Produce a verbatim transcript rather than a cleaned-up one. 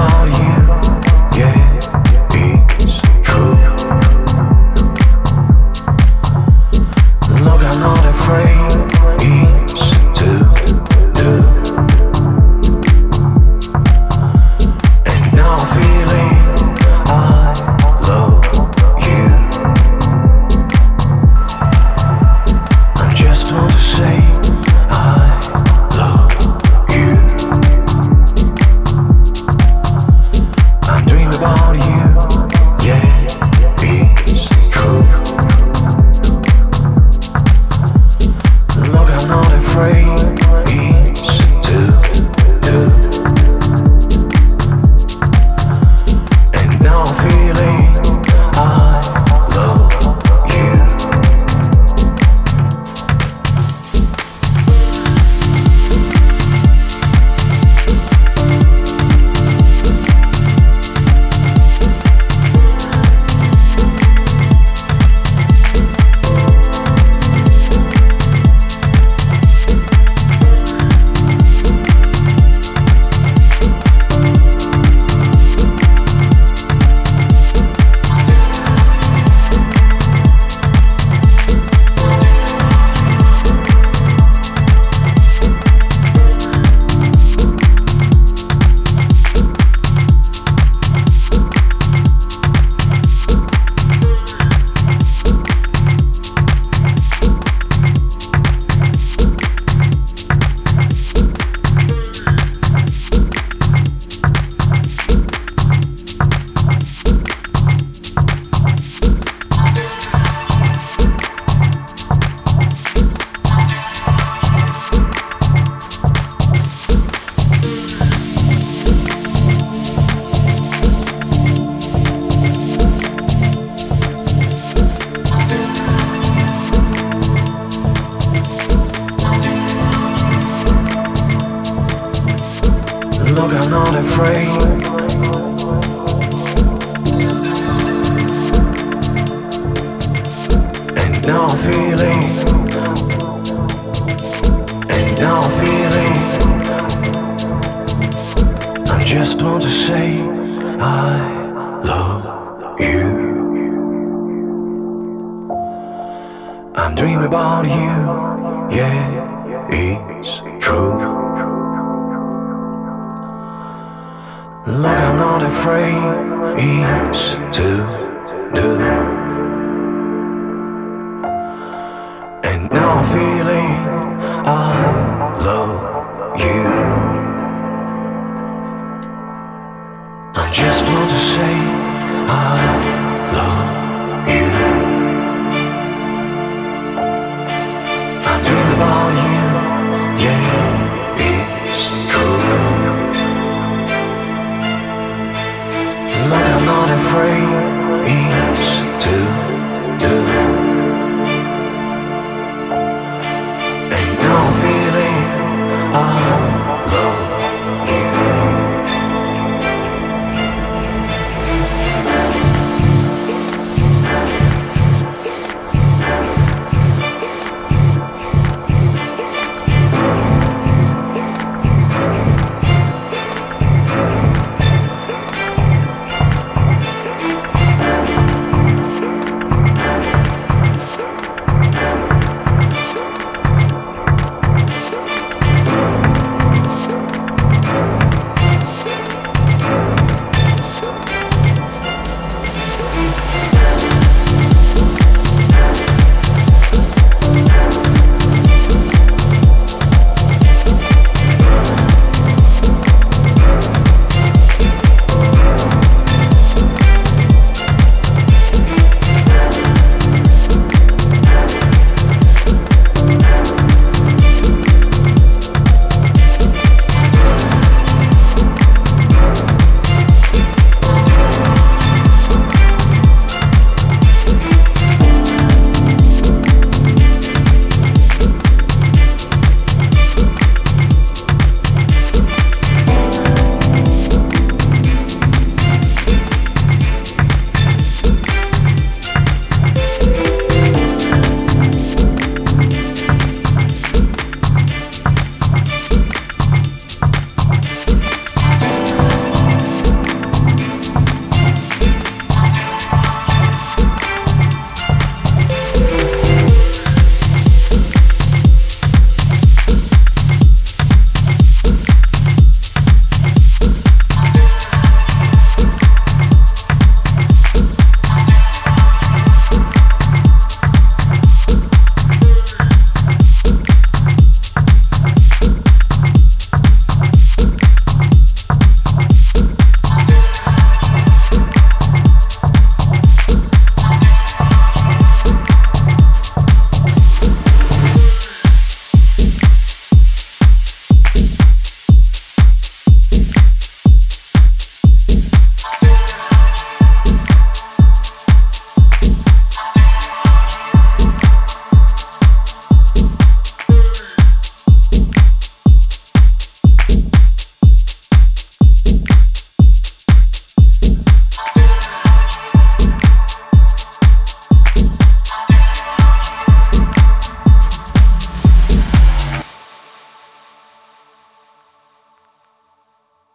about you, yeah, it's true. Look, I'm not afraid, it's to do. And now I'm feeling I love you. I just want to say I love you. I'm dreaming about you, yeah, it's true. Look, I'm not afraid, it's to do. And now I'm feeling I love you. Look, I'm not afraid. And now I'm feeling, and now I'm feeling. I just want to say I love you. I'm dreaming about you, yeah, it's true. Look, I'm not afraid, it's to do. And now I'm feeling I love you. I just want to say I love you. I'm dreaming about you, yeah, it's true. Look, I'm not afraid, it's to